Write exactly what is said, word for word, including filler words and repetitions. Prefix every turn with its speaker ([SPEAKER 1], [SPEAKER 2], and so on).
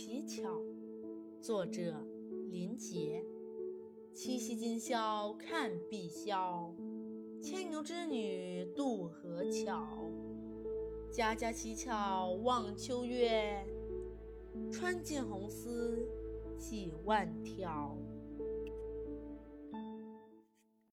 [SPEAKER 1] 乞巧，作者林杰。七夕今宵看碧霄，牵牛织女渡河桥。家家乞巧望秋月，穿尽红丝几万条。